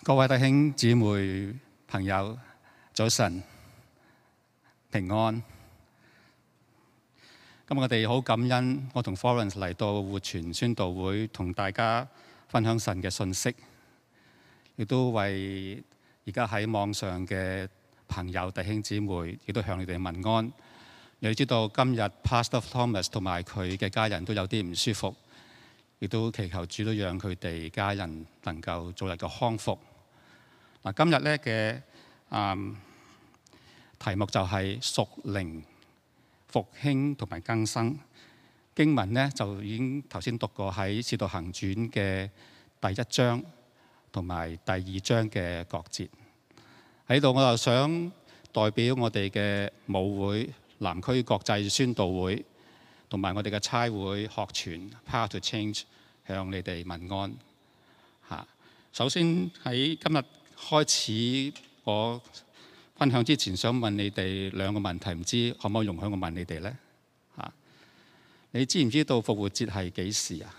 各位弟兄姊妹朋友，早晨平安。今日我哋好感恩，我同 Florence 嚟到活泉宣道會，同大家分享神嘅信息，亦都為而家喺網上嘅朋友弟兄姊妹，亦都向你哋問安。你知道今日 Pastor Thomas 同埋佢嘅家人都有啲唔舒服，亦都祈求主都讓佢哋家人能夠早日嘅康復。嗱，今日咧嘅題目就係屬靈復興同埋更新。經文咧就已經頭先讀過喺《使徒行傳》嘅第1章同埋第2章嘅各節。喺度我就想代表我哋嘅母會南區國際宣道會同埋我哋嘅差會學傳 Power to Change 向你哋問安嚇。首先喺今日開始我分享之前，想問你哋兩個問題，唔知可唔可以容許我問你哋呢？你知唔知道復活節係幾時啊？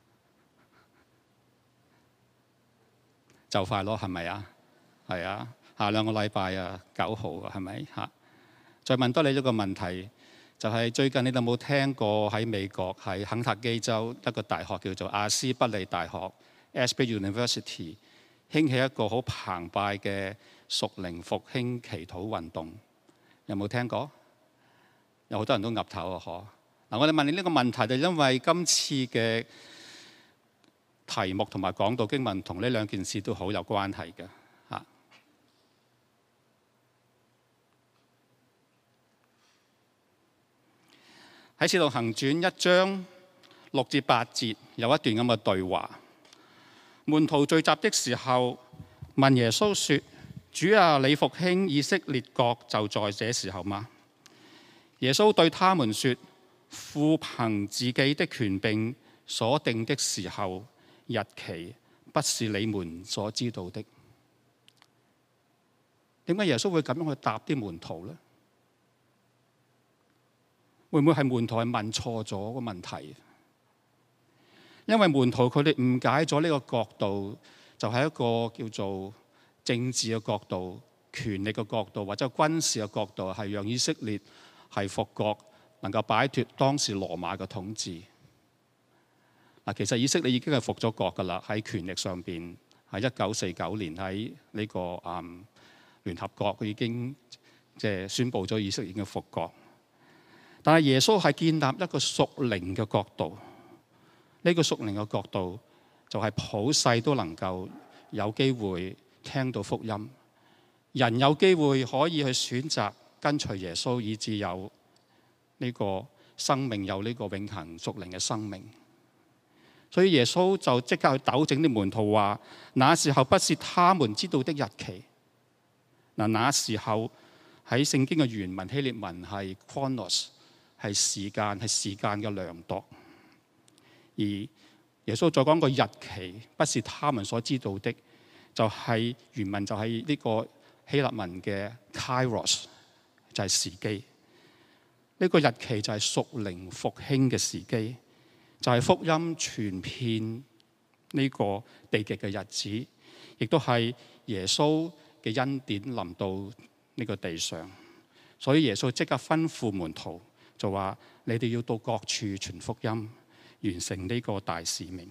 就快咯，係咪啊？係啊，下兩個禮拜啊，9號啊，係咪嚇？再問多你一個問題，就係最近你哋有冇聽過喺美國喺肯塔基州一個大學叫做亞斯伯利大學 （Asbury University） 興起一個好澎湃嘅屬靈復興祈禱運動，有冇聽過？有好多人都岌頭啊！嗬。嗱，我哋問你呢個問題，就因為今次嘅題目同埋講道經文同呢兩件事都好有關係嘅嚇。喺《使徒行傳》1章6至8節有一段咁嘅對話。門徒聚集的時候，問耶穌說：主啊，你復興以色列國就在這時候嗎？耶穌對他們說：父憑自己的權柄所定的時候日期，不是你們所知道的。點解耶穌會咁樣去答啲門徒呢？會唔會係門徒係問錯咗個問題？因為門徒佢哋誤解咗呢個角度，就係一個叫做政治嘅角度、權力嘅角度，或者軍事嘅角度，係讓以色列係復國，能夠擺脫當時羅馬嘅統治。嗱，其實以色列已經係復咗國㗎啦，喺權力上邊，喺1949年喺呢個聯合國，佢已經即係宣佈咗以色列已經復國。但係耶穌係建立一個屬靈嘅角度。呢個屬靈嘅角度就係普世都能夠有機會聽到福音，人有機會可以去選擇跟隨耶穌，以至有呢個生命，有呢個永恆屬靈嘅生命。所以耶穌就即刻去糾正啲門徒話：那時候不是他們知道的日期。嗱，那時候喺聖經嘅原文希臘文係 chronos， 係時間嘅量度。而耶穌再講個日期，不是他們所知道的，就係原文就係呢個希臘文嘅 kairos， 就係時機。呢個日期就係屬靈復興嘅時機，就係福音傳遍呢個地極嘅日子，亦都係耶穌嘅恩典臨到呢個地上。所以耶穌即刻吩咐門徒，就話：你哋要到各處傳福音，完成呢個大使命。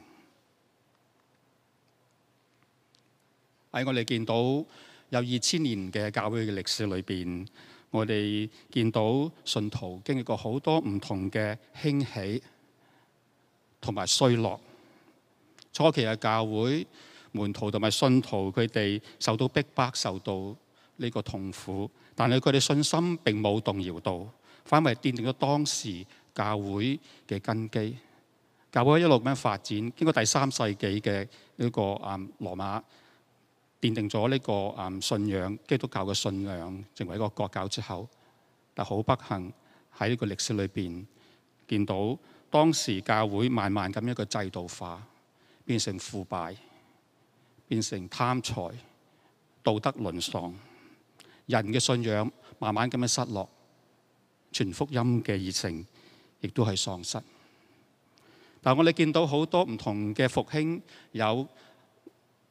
喺我哋見到有2000年嘅教會嘅歷史裏邊，我哋見到信徒經歷過好多唔同嘅興起同埋衰落。初期嘅教會門徒同埋信徒，佢哋受到逼迫，受到呢個痛苦，但係佢哋信心並冇動搖到，反為奠定咗當時教會嘅根基。教會一路咁樣發展，經過第3世紀嘅呢個羅馬奠定咗呢個信仰，基督教嘅信仰成為一個國教之後，但好不幸喺呢個歷史裏邊見到當時教會慢慢咁一個制度化，變成腐敗，變成貪財、道德淪喪，人嘅信仰慢慢咁樣失落，傳福音嘅熱誠亦都係喪失。但我哋見到好多唔同嘅復興，有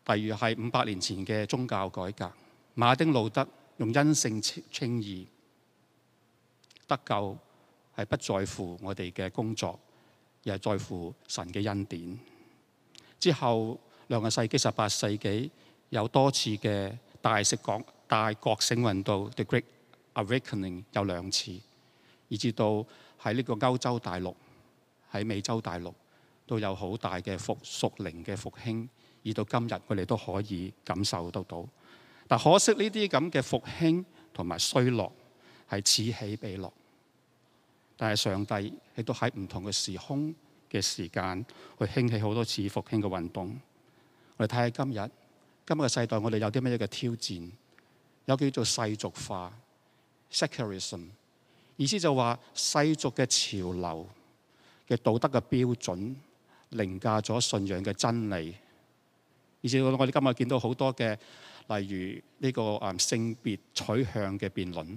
例如係500年前嘅宗教改革，馬丁路德用因信稱義，得救係不在乎我哋嘅工作，而係在乎神嘅恩典。之後2個世紀、18世紀有多次嘅大覺醒運動 The Great Awakening 有2次，以至到喺呢個歐洲大陸、喺美洲大陸都有好大嘅屬靈嘅復興，而到今日我哋都可以感受得到。但可惜呢啲咁嘅復興同埋衰落係此起彼落，但係上帝亦都喺唔同嘅時空嘅時間去興起好多次復興嘅運動。我哋睇下今日嘅世代，我哋有啲乜嘢嘅挑戰？有叫做世俗化 （secularism）， 意思就話世俗嘅潮流嘅道德嘅標準凌駕咗信仰嘅真理，以至到我哋今日見到好多嘅，例如呢個性別取向嘅辯論，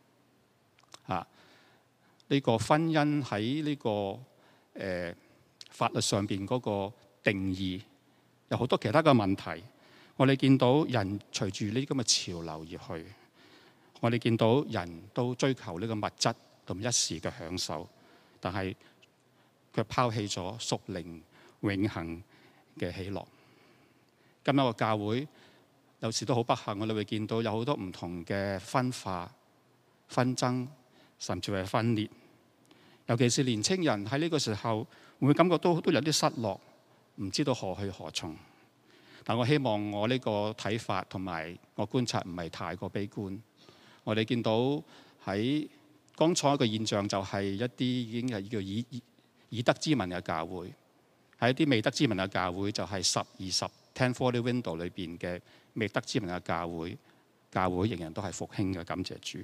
呢個婚姻喺呢個法律上邊嗰個定義，有好多其他嘅問題。我哋見到人隨住呢啲咁嘅潮流而去，我哋見到人都追求呢個物質同一時嘅享受，但係卻拋棄咗屬靈永恆嘅喜樂。今日個教會有時都好不幸，我哋會見到有好多唔同嘅分化、紛爭，甚至係分裂。尤其是年青人喺呢個時候，會唔會感覺都有啲失落，唔知道何去何從？但我希望我呢個睇法同埋我觀察唔係太過悲觀。我哋見到喺剛才一個現象，就係一啲已經係叫以德之民嘅教會，喺一啲未得之民嘅教會，就係10-20 1040 window 裏邊嘅未得之民嘅教會仍然都係復興嘅，感謝主。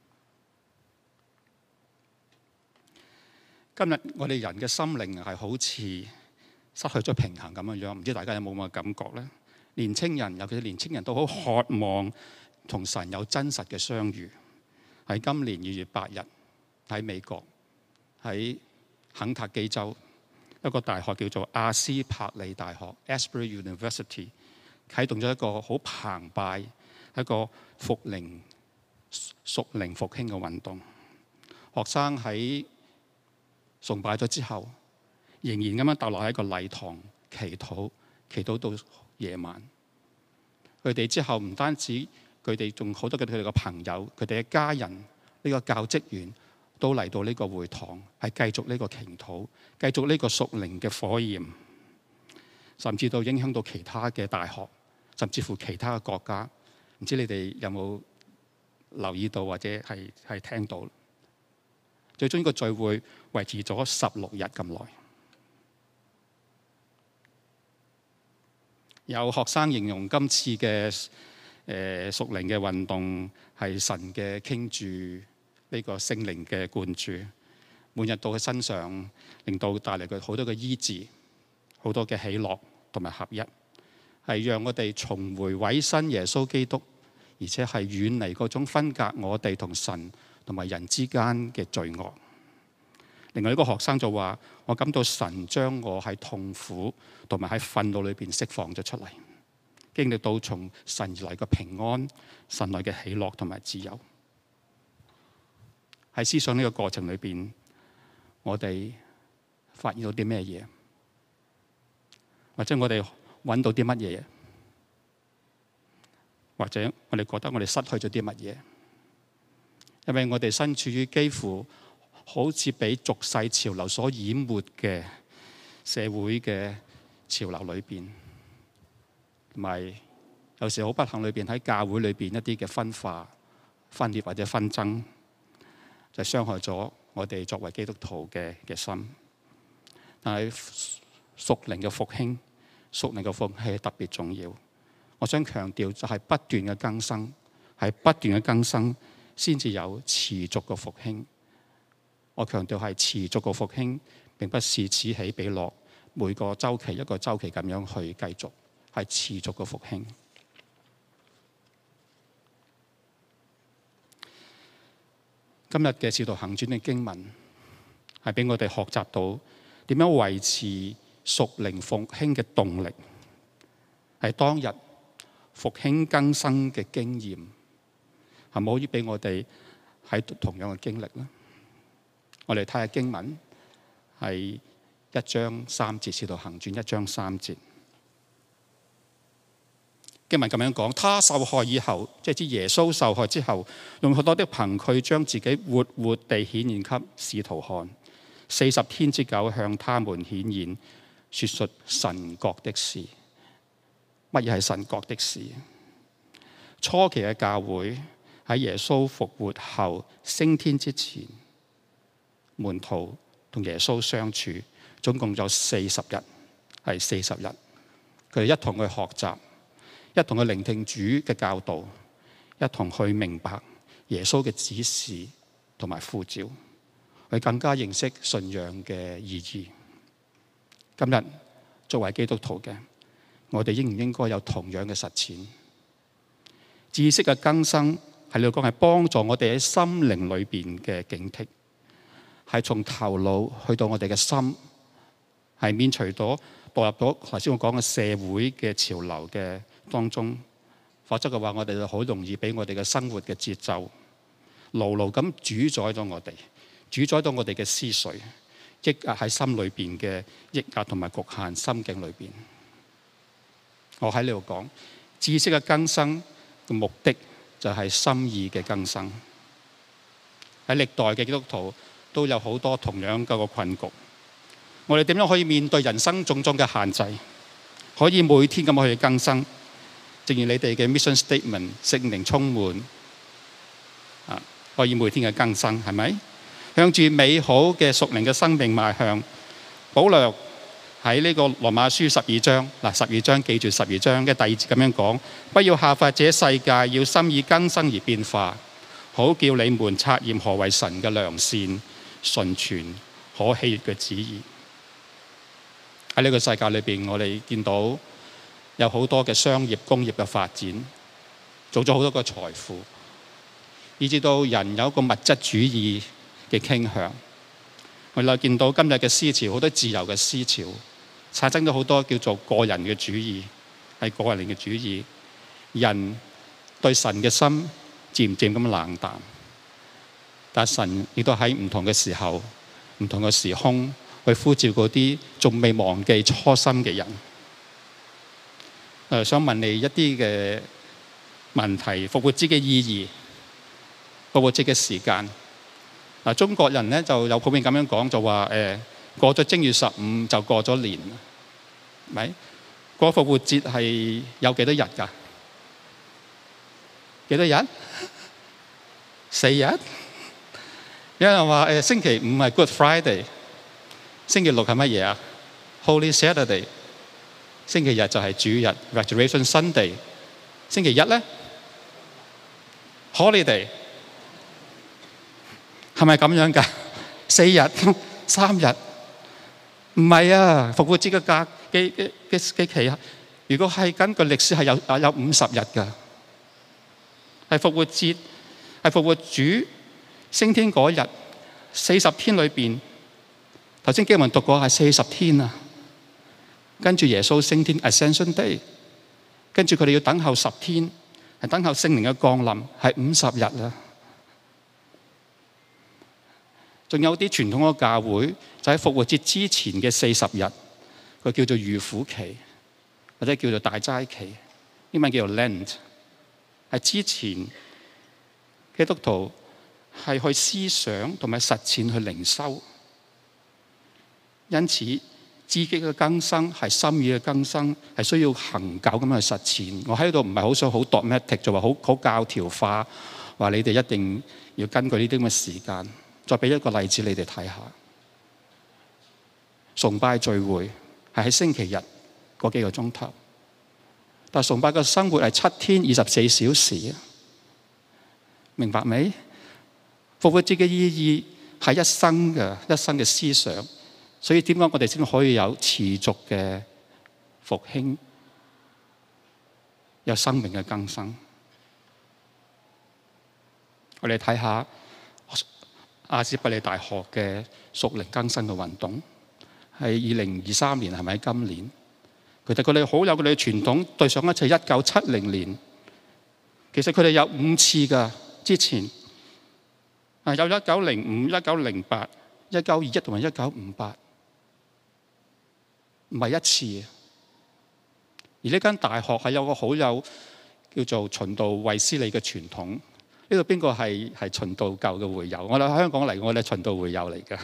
今日我哋人嘅心靈係好似失去咗平衡咁樣，唔知大家有冇咁嘅感覺呢？年青人，尤其是年青人都好渴望同神有真實嘅相遇。喺今年2月8日，喺美國，喺肯塔基州一個大學叫做亞斯柏里大學 （Asbury University） 啟動咗一個好澎湃、一個屬靈復興嘅運動。學生喺崇拜咗之後，仍然咁樣逗留喺個禮堂祈禱到夜晚。佢哋之後唔單止佢哋，仲好多佢哋嘅朋友、佢哋嘅家人、呢個教職員都嚟到呢個會堂，係繼續呢個祈禱，繼續呢個屬靈嘅火焰，甚至到影響到其他嘅大學，甚至乎其他嘅國家。唔知你哋有冇留意到或者係聽到？最終呢個聚會維持咗16日咁耐。有學生形容今次嘅屬靈嘅運動係神嘅傾注呢個聖靈嘅灌注，每日到佢身上，令到帶嚟佢好多嘅醫治，好多嘅喜樂同埋合一，係讓我哋重回委身耶穌基督，而且係遠離嗰種分隔我哋同神同埋人之間嘅罪惡。另外一個學生就話：我感到神將我喺痛苦同埋喺憤怒裏邊釋放咗出嚟，經歷到從神而來嘅平安、神來嘅喜樂同埋自由。喺思想呢個過程裏邊，我哋發現到啲咩嘢？或者我哋揾到啲乜嘢？或者我哋覺得我哋失去咗啲乜嘢？因為我哋身處於幾乎好似被俗世潮流所淹沒嘅社會嘅潮流裏邊，同埋有時好不幸裏邊喺教會裏邊一啲嘅分化、分裂或者紛爭，就傷害咗我哋作為基督徒嘅心。但係屬靈嘅復興、屬靈嘅復興係特別重要。我想強調就係不斷嘅更新，係不斷嘅更新先至有持續嘅復興。我強調係持續嘅復興，並不是此起彼落，每個週期一個週期咁樣去繼續，係持續嘅復興。今日嘅《使徒行傳》嘅經文係俾我哋學習到點樣維持屬靈復興嘅動力，係當日復興更新嘅經驗，係咪可以俾我哋喺同樣嘅經歷呢？我哋睇下經文，係1章3節，使徒行傳1章3節。經文咁樣講，他受害以後，即係指耶穌受害之後，用好多的憑據將自己活活地顯現給使徒看，40天之久向他們顯現，說述神國的事。乜嘢係神國的事？初期嘅教會喺耶穌復活後升天之前，門徒同耶穌相處，總共有40日，係40日，佢哋一同去學習，一同去聆聽主嘅教導，一同去明白耶穌嘅指示同埋呼召，去更加認識信仰嘅意義。今日作為基督徒嘅，我哋應唔應該有同樣嘅實踐？知識嘅更新喺呢度講係幫助我哋喺心靈裏邊嘅警惕，係從頭腦去到我哋嘅心，係免除咗步入咗頭先我講嘅社會嘅潮流嘅當中，否則嘅話，我哋就好容易俾我哋嘅生活嘅節奏牢牢咁主宰咗我哋，主宰到我哋嘅思緒，抑壓喺心裏邊嘅抑壓同埋局限心境裏邊。我喺呢度講知識嘅更新嘅目的就係心意嘅更新。喺歷代嘅基督徒都有好多同樣嘅個困局。我哋點樣可以面對人生種種嘅限制，可以每天咁去更新？正如你哋嘅 mission statement， 聖靈充滿可以每天嘅更新，係咪？向住美好嘅屬靈嘅生命邁向。保羅喺呢個羅馬書12章，12章記住12章嘅第2節咁樣講：不要效法這世界，要心意更新而變化，好叫你們察驗何為神嘅良善、純全、可喜悅嘅旨意。喺呢個世界裏邊，我哋見到有好多嘅商業、工業嘅發展，做咗好多個財富，以至到人有一個物質主義嘅傾向。我哋見到今日嘅思潮，好多自由嘅思潮，產生咗好多叫做個人嘅主義，係個人嘅主義。人對神嘅心漸漸咁冷淡，但神亦都喺唔同嘅時候、唔同嘅時空去呼召嗰啲仲未忘記初心嘅人。想問你一啲嘅問題：復活節嘅意義、復活節嘅時間。中國人咧就有普遍咁樣講，就話過咗正月15就過咗年，咪過復活節係有幾多日㗎？幾多日？4日。有人話星期5係 Good Friday， 星期6係乜嘢啊？ Holy Saturday， 星期日就係主日 Resurrection Sunday， 星期一咧 Holiday。係咪咁樣㗎？4日、3日？唔係啊！復活節嘅假嘅期啊，如果係根據歷史係有50日㗎。係復活節，係復活主升天嗰日40天裏邊，頭先經文讀過係40天啊。跟住耶穌升天 Ascension Day， 跟住佢哋要等候10天，係等候聖靈嘅降臨，係50日啊。仲有啲傳統嘅教會就喺復活節之前嘅40日，佢叫做預苦期，或者叫做大齋期，英文叫做 Lent， 係之前基督徒係去思想同埋實踐去靈修，因此知識嘅更新係心意嘅更新，係需要恆久咁去實踐。我喺度唔係好想好 dogmatic， 就話好教條化，話你哋一定要根據呢啲咁嘅時間。再俾一個例子你哋睇下，崇拜聚會係喺星期日嗰幾個鐘頭，但崇拜嘅生活係7天24小時，明白未？復活節嘅意義係一生嘅思想，所以點解我哋先可以有持續嘅復興，有生命嘅更新？我哋睇下亞斯伯利大學嘅屬靈更新嘅運動，係2023年，係咪今年？ 佢哋好有佢哋嘅傳統。對上一次1970年，其實佢哋有5次㗎。之前有1905、1908、1921同埋1958，唔係一次。而呢間大學係有個好有叫做循道衛斯理嘅傳統。呢度邊個係循道教嘅會友？我哋喺香港嚟，我哋係循道會友嚟㗎。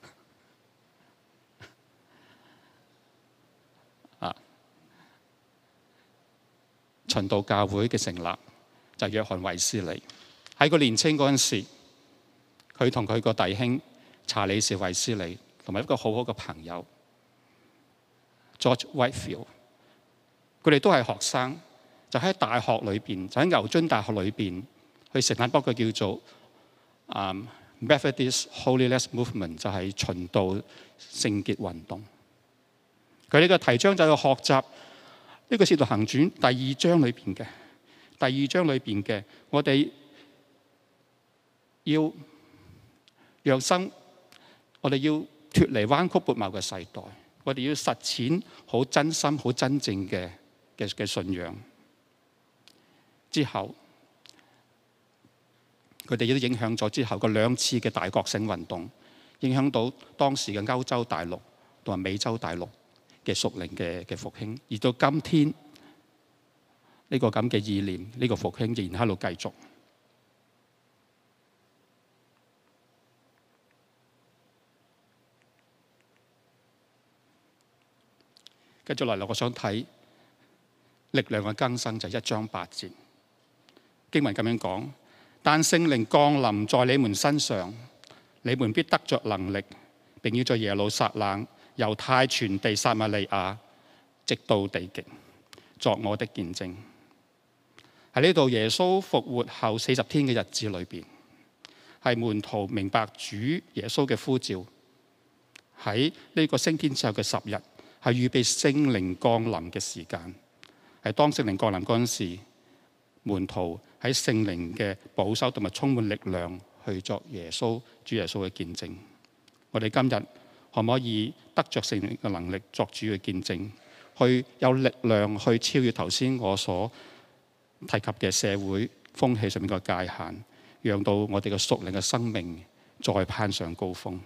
循道教會嘅成立就係約翰衛斯理。喺佢年青嗰陣時，佢同佢個弟兄查理士衛斯理同埋一個好好嘅朋友 George Whitefield， 佢哋都係學生，就喺大學裏邊，就喺牛津大學裏邊去成立一個叫做Methodist Holiness Movement， 就係循道聖潔運動。佢呢個提倡就係學習呢個《使徒行傳》第2章裏邊嘅，我哋要讓生，我哋要脫離彎曲悖謬嘅世代，我哋要實踐好真心、好真正嘅信仰。之後，佢哋亦都影響咗之後嗰2次嘅大覺醒運動，影響到當時嘅歐洲大陸同埋美洲大陸嘅屬靈嘅復興，而到今天呢個咁嘅意念，呢個復興仍然喺度繼續。繼續落嚟，我想睇力量嘅更新，就係1章8節經文咁樣講：但聖靈降臨在你們身上，你們必得着能力，並要在耶路撒冷、猶太全地、撒瑪利亞，直到地極，作我的見證。喺呢度，耶穌復活後40天嘅日子裏邊，係門徒明白主耶穌嘅呼召。喺呢個升天之後嘅10日，係預備聖靈降臨嘅時間。係當聖靈降臨嗰陣時，門徒喺聖靈嘅保守同埋充滿力量去作主耶穌嘅見證。我哋今日可唔可以得着聖靈嘅能力作主嘅見證，去有力量去超越頭先我所提及嘅社會風氣上面嘅界限，讓到我哋嘅屬靈嘅生命再攀上高峰。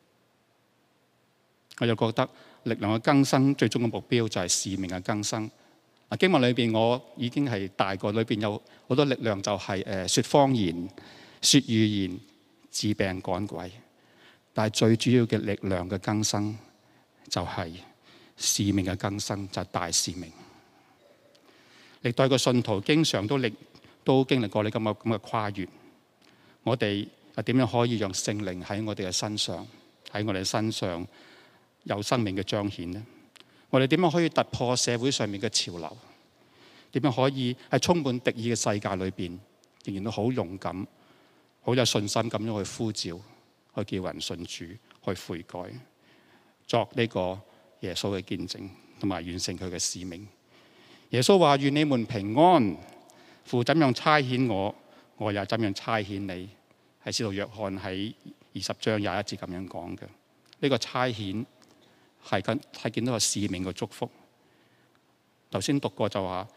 我又覺得力量嘅更新最終嘅目標就係使命嘅更新。經文裏邊我已經係大過，裏邊有好多力量，就係說方言、說語言、治病趕鬼。但係最主要嘅力量嘅更新就係使命嘅更新，就係大使命。歷代嘅信徒經常都經歷過呢咁嘅跨越。我哋又點樣可以讓聖靈喺我哋嘅身上有生命嘅彰顯呢？我哋點樣可以突破社會上面嘅潮流？點樣可以喺充滿敵意嘅世界裏邊，仍然都好勇敢、好有信心咁樣去呼召、去叫人信主、去悔改，作呢個耶穌嘅見證，同埋完成佢嘅使命。耶穌話：願你們平安，父怎樣差遣我，我也怎樣差遣你。係使徒約翰喺20章21節咁樣講嘅。呢個差遣係見到個使命嘅祝福。頭先讀過就話：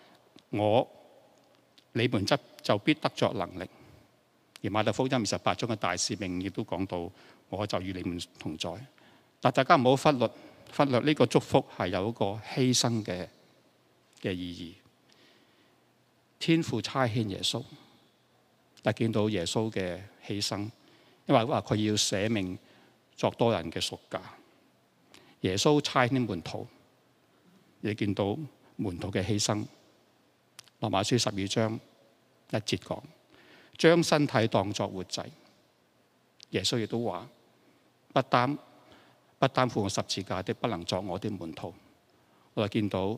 你們就必得着能力。而馬太福音28章嘅大使命亦都講到：我就與你們同在。但大家唔好忽略呢個祝福係有一個犧牲嘅意義。天父差遣耶穌，但見到耶穌嘅犧牲，因為話佢要捨命作多人嘅贖價。耶穌差遣門徒，亦見到門徒嘅犧牲。羅馬書12章1節講：將身體當作活祭。耶穌亦都話：不擔負我十字架的，不能作我的門徒。我哋見到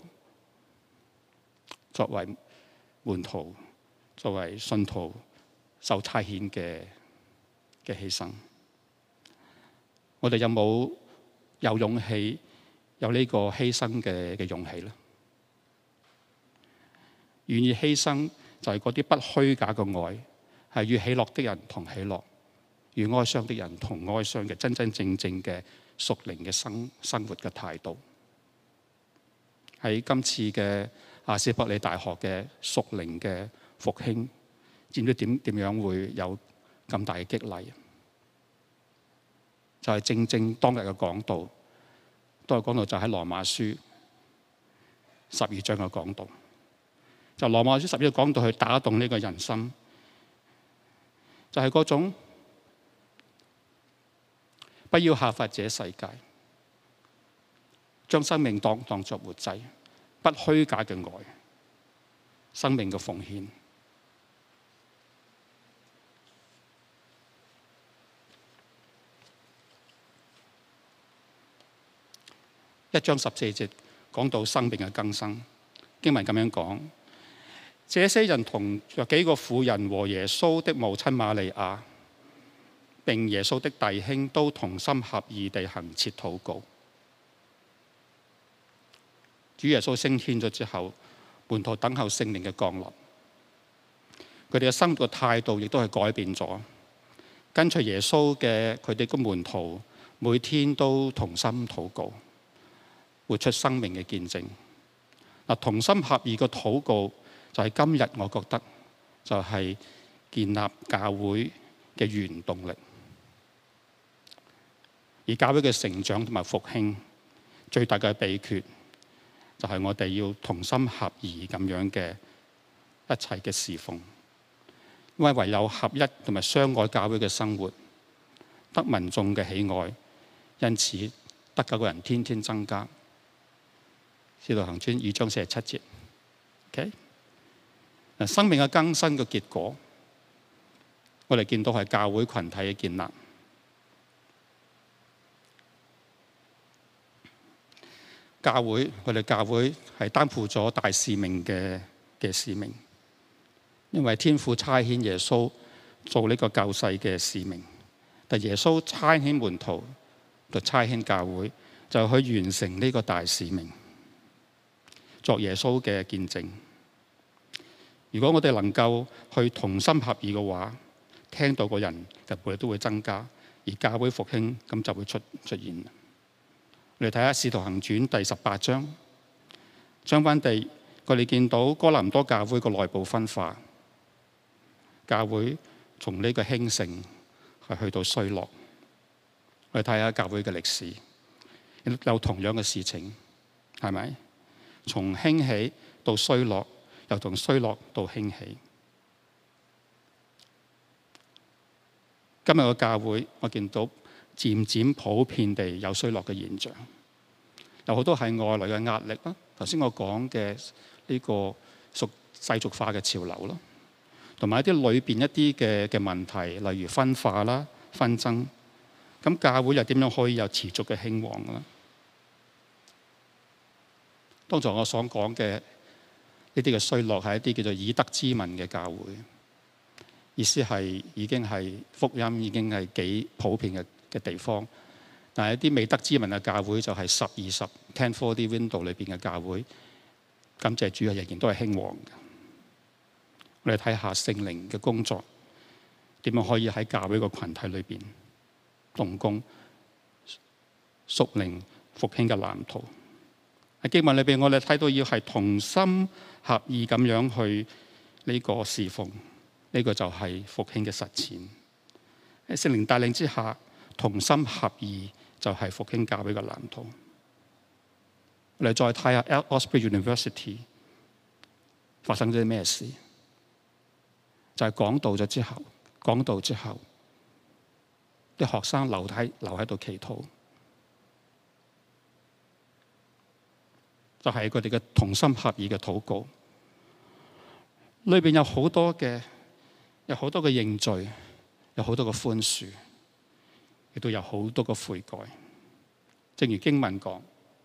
作為門徒、作為信徒受差遣嘅犧牲。我哋有勇氣有呢個犧牲嘅勇氣咧？願意犧牲就係嗰啲不虛假嘅愛，係與喜樂的人同喜樂，與哀傷的人同哀傷嘅真真正正嘅屬靈嘅生活嘅態度。 喺今次嘅亞斯伯里大學嘅屬靈嘅復興，知唔知點樣會有咁大嘅激勵？就係正正當日嘅講道，當日講道就喺羅馬書12章嘅講道，就羅馬書12章講道去打動呢個人心，就係嗰種不要效法這世界，將生命當作活祭，不虛假嘅愛，生命嘅奉獻。1章14節講到生命嘅更新，經文咁樣講：這些人同約幾個婦人和耶穌的母親瑪利亞，並耶穌的弟兄都同心合意地恆切禱告。主耶穌升天咗之後，門徒等候聖靈嘅降臨，佢哋嘅生活態度亦都係改變咗。跟隨耶穌嘅佢哋嘅門徒，每天都同心禱告，活出生命嘅見證。同心合意嘅禱告就係今日我覺得就係建立教會嘅原動力。而教會嘅成長同埋復興最大嘅秘訣就係我哋要同心合意咁樣嘅一切嘅侍奉，因為唯有合一同埋相愛教會嘅生活得民眾嘅喜愛，因此得救嘅人天天增加。使徒行傳2章47節。OK， 生命嘅更新嘅結果，我哋見到係教會群體嘅建立。我哋教會係擔負咗大使命嘅使命，因為天父差遣耶穌做呢個救世嘅使命，但耶穌差遣門徒就差遣教會，就去完成呢個大使命，作耶穌嘅見證。如果我哋能夠去同心合意嘅話，聽到嘅人就每日都會增加，而教會復興咁就會出現。我哋睇下《使徒行傳》第18章，相反地，我哋見到哥林多教會個內部分化，教會從呢個興盛係去到衰落。我哋睇下教會嘅歷史，有同樣嘅事情，係咪？從興起到衰落，又從衰落到興起。今日嘅教會，我見到漸漸普遍地有衰落嘅現象，有好多係外來嘅壓力啦。頭先我講嘅呢個屬世俗化嘅潮流啦，同埋一啲裏邊一啲嘅問題，例如分化啦、紛爭。咁教會又點樣可以有持續嘅興旺啦？當才我所講嘅呢啲嘅衰落係一啲叫做以德之民嘅教會，意思係已經係福音已經係幾普遍嘅地方，但係一啲未得之民嘅教會就係10-20 10-40 window 裏邊嘅教會，感謝主啊，仍然都係興旺嘅。我哋睇下聖靈嘅工作點樣可以喺教會個群體裏邊動工，屬靈復興嘅藍圖。喺經文裏邊，我哋睇到要係同心合意咁樣去呢個侍奉，呢個就係復興嘅實踐。喺聖靈帶領之下，同心合意就係復興教會嘅藍圖。我哋再睇下 Osprey University 發生咗啲咩事？就係講道之後，啲學生留喺度祈禱，就係佢哋嘅同心合意嘅禱告。裏邊有好多嘅認罪，有好多嘅寬恕，亦都有好多嘅悔改。正如經文講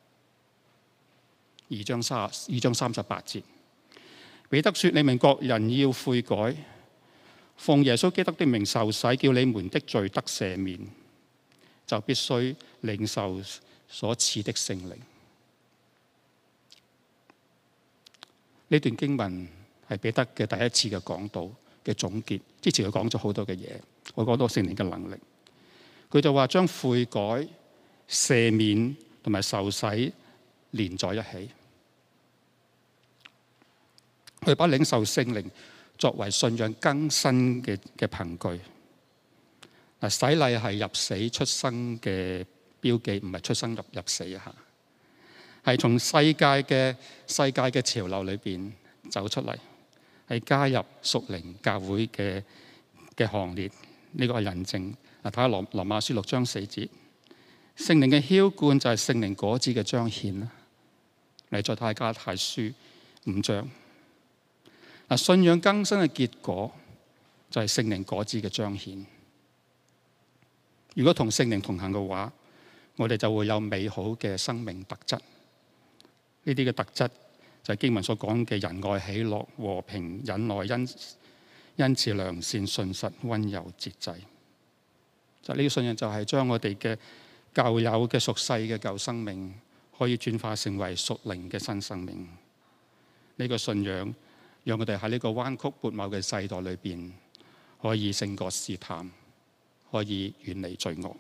2章38節，彼得說：你們各人要悔改，奉耶穌基督的名受洗，叫你們的罪得赦免，就必須領受所賜的聖靈。呢段經文係彼得嘅第一次嘅講道嘅總結。之前佢講咗好多嘅嘢，我講到聖靈嘅能力。佢就話將悔改、赦免同埋受洗連在一起。 佢把領受聖靈作為信仰更新嘅憑據。嗱，洗禮係入死出生嘅標記，唔係出生入死啊！係從世界嘅潮流裏邊走出嚟，係加入屬靈教會嘅行列。呢個係印證。嗱，睇下羅馬書6章4節，聖靈嘅澆灌就係聖靈果子嘅彰顯啦。嚟再睇加拉太書5章。嗱，信仰更新嘅結果就係聖靈果子嘅彰顯。如果同聖靈同行嘅話，我哋就會有美好嘅生命特質。呢啲嘅特質就係經文所講嘅仁愛、喜樂、和平、忍耐、恩慈、良善、信實、溫柔、節制。就呢個信仰就係將我哋嘅舊有嘅屬世嘅舊生命，可以轉化成為屬靈嘅新生命。呢個信仰讓我哋喺呢個彎曲悖謬嘅世代裏邊，可以勝過試探，可以遠離罪惡。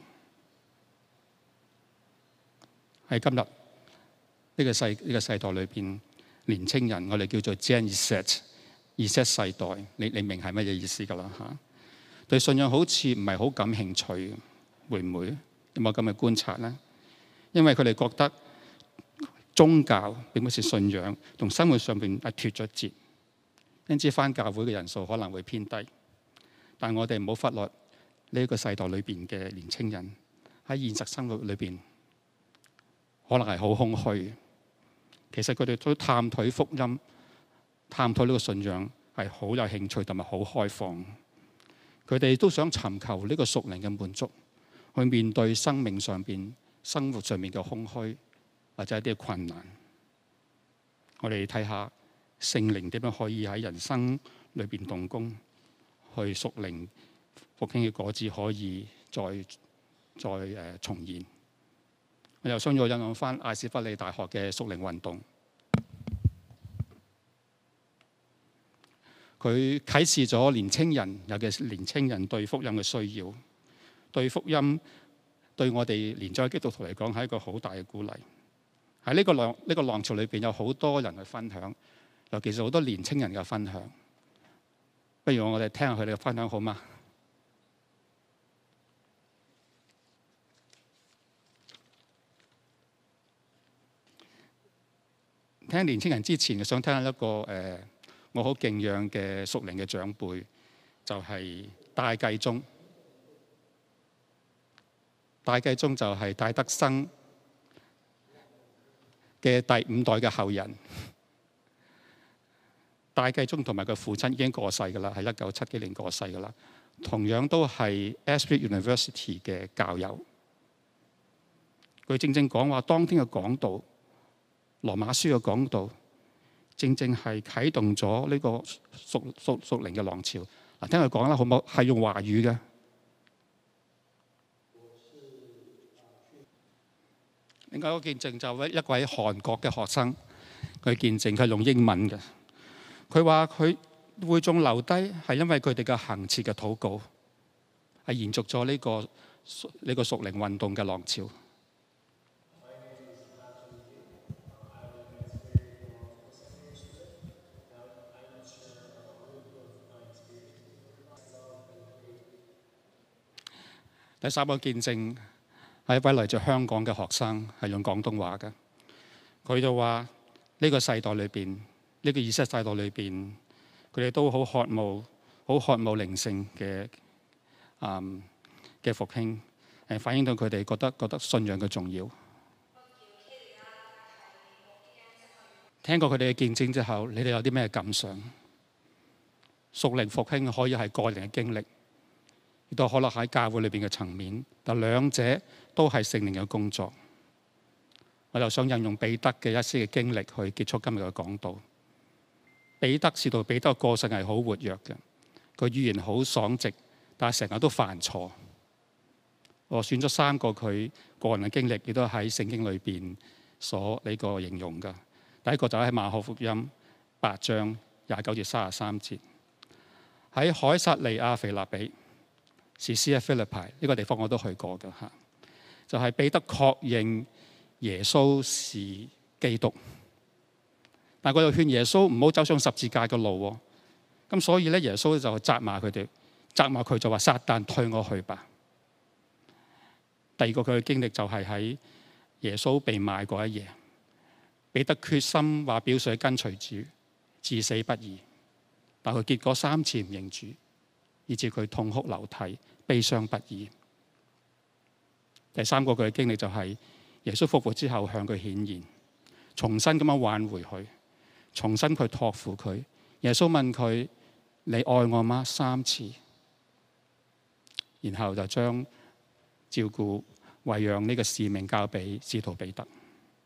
喺今日呢個世代裏邊，年青人我哋叫做 Gen Z 世代，你明係乜嘢意思㗎啦嚇？對信仰好似唔係好感興趣，會唔會有冇咁嘅觀察呢？因為佢哋覺得宗教並不是信仰，同生活上邊係脫咗節，因此返教會嘅人數可能會偏低。但我哋唔好忽略呢個世代裏邊嘅年青人喺現實生活裏邊，可能係好空虛。其實佢哋都探討福音、探討呢個信仰係好有興趣同埋好開放。佢哋都想尋求呢個屬靈嘅滿足，去面對生命上邊、生活上面嘅空虛或者一啲困難。我哋睇下聖靈點樣可以喺人生裏邊動工，去屬靈復興嘅果子可以再重現。我又想要引用翻艾斯弗利大學嘅屬靈運動，佢啟示咗年青人，尤其是年青人對福音嘅需要，對福音對我哋年長基督徒嚟講係一個好大嘅鼓勵。喺呢個浪潮裏邊有好多人去分享，尤其是好多年青人嘅分享。不如我哋聽下佢哋嘅分享好嗎？聽年青人之前，想聽一個我好敬仰嘅屬靈嘅長輩，就係戴繼宗。戴繼宗就係戴德生嘅第5代嘅後人。戴繼宗同埋佢父親已經過世㗎啦，係1970幾年過世㗎啦。同樣都係 Ashby University 嘅教友。佢正正講話，當天嘅講道，羅馬書嘅講道，正正係啟動咗呢個屬靈嘅浪潮。嗱，聽佢講啦，好唔好？係用華語嘅。另外一個見證就係一位韓國嘅學生，佢見證佢係用英文嘅。佢話佢會眾留低係因為佢哋嘅恆切嘅禱告，係延續咗呢個屬靈運動嘅浪潮。第3個見證係一位嚟自香港嘅學生，係用廣東話嘅。佢就話呢個世代裏邊，呢個20世代裏邊，佢哋都好渴慕靈性嘅復興，反映到佢哋覺得信仰嘅重要。聽過佢哋嘅見證之後，你哋有啲咩感想？屬靈復興可以係個人嘅經歷，亦都可能喺教會裏邊嘅層面，但兩者都係聖靈嘅工作。我就想引用彼得嘅一些嘅經歷去結束今日嘅講道。使徒彼得嘅個性係好活躍嘅，佢語言好爽直，但係成日都犯錯。我選咗3個佢個人嘅經歷，亦都喺聖經裏邊所呢個形容嘅。第一個就喺馬可福音8章29至33節，喺凱撒利亞腓立比，士師喺腓立比呢個地方我都去過嘅嚇，就係彼得確認耶穌是基督。 但係佢又勸耶穌唔好走上十字架嘅路喎。咁所以咧，耶穌就責罵佢哋，責罵佢就話：撒旦退我去吧。第二個佢嘅經歷就係喺耶穌被賣嗰一夜，彼得決心話表示跟隨主，至死不移。但佢結果3次唔認主，以致佢痛哭流涕，悲傷不已。第三個佢嘅經歷就係耶穌復活之後向佢顯現，重新咁樣挽回佢，重新去託付佢。耶穌問佢：你愛我嗎？3次，然後就將照顧餵養呢個使命交俾使徒彼得。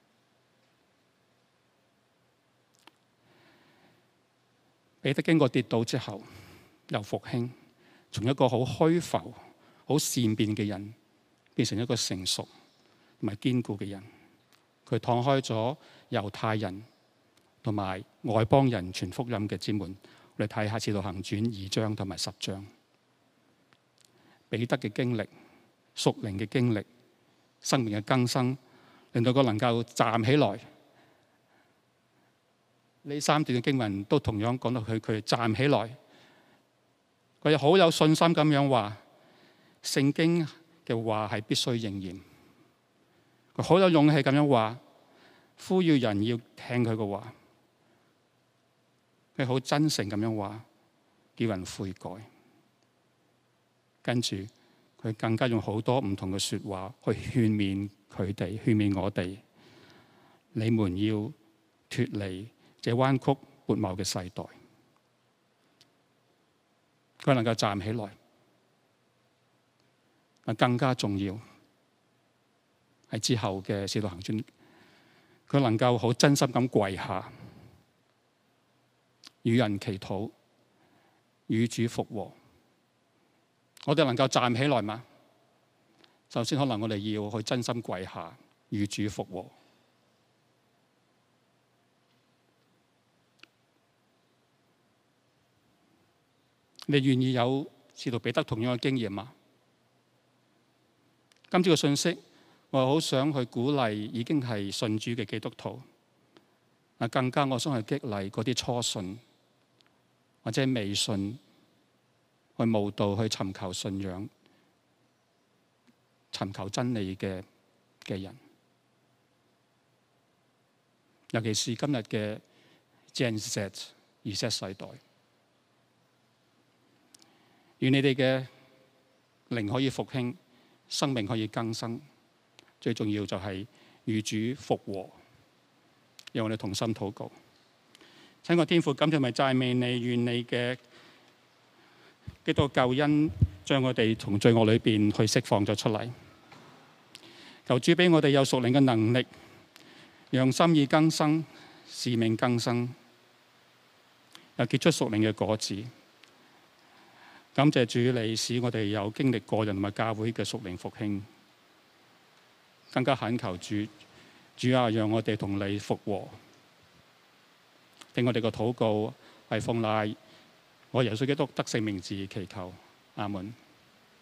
彼得經過跌倒之後又復興，從一個好虛浮、好善變嘅人變成一個成熟同埋堅固嘅人。佢敞開咗猶太人同埋外邦人傳福音嘅之門。我哋睇下《使徒行傳》2章同埋10章，彼得嘅經歷、屬靈嘅經歷、生命嘅更新，令到佢能夠站起來。呢3段嘅經文都同樣講到佢站起來，佢好有信心咁樣話，聖經嘅話係必須應驗。佢好有勇氣咁樣話，呼籲人要聽佢嘅話。佢好真誠咁樣話，叫人悔改。跟住佢更加用好多唔同嘅說話去勸勉佢哋，勸勉我哋。你們要脫離這彎曲悖謬嘅世代。佢能夠站起來，更加重要係之後嘅使徒行傳，佢能夠好真心咁跪下，與人祈禱，與主復和。我哋能夠站起來嗎？首先可能我哋要去真心跪下，與主復和。你願意有使徒彼得同樣嘅經驗嗎？今朝嘅信息，我好想去鼓勵已經係信主嘅基督徒，更加我想去激勵嗰啲初信或者未信去慕道去尋求信仰、尋求真理嘅人，尤其是今日嘅 Gen Z 世代，願你哋嘅靈可以復興，生命可以更新，最重要就係與主復和。讓我哋同心禱告。親愛的天父，感謝咪讚美你，願你嘅基督救恩將我哋從罪惡裏邊去釋放咗出嚟。求主俾我哋有屬靈嘅能力，讓心意更新、使命更新，又結出屬靈嘅果子。感謝主，你使我哋有經歷個人同埋教會嘅屬靈復興，更加懇求主啊，讓我哋同你復和。聽我哋個禱告係奉賴我耶穌基督得勝名字祈求，阿門。